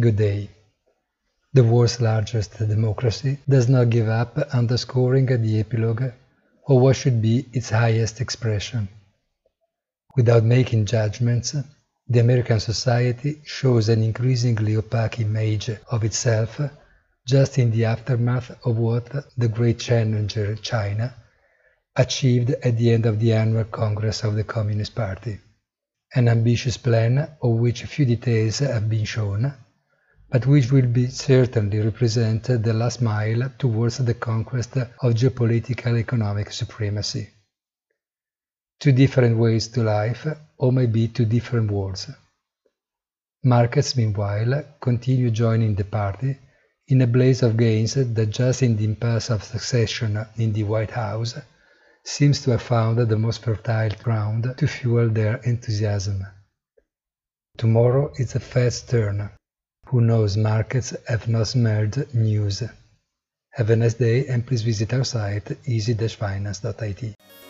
Good day. The world's largest democracy does not give up, underscoring the epilogue of what should be its highest expression. Without making judgments, the American society shows an increasingly opaque image of itself just in the aftermath of what the great challenger China achieved at the end of the annual Congress of the Communist Party. An ambitious plan of which few details have been shown, but which will certainly represent the last mile towards the conquest of geopolitical economic supremacy. Two different ways to life, or maybe two different worlds. Markets, meanwhile, continue joining the party in a blaze of gains that just in the impasse of succession in the White House seems to have found the most fertile ground to fuel their enthusiasm. Tomorrow is the Fed's turn. Who knows, markets have not smelled news. Have a nice day and please visit our site easy-finance.it.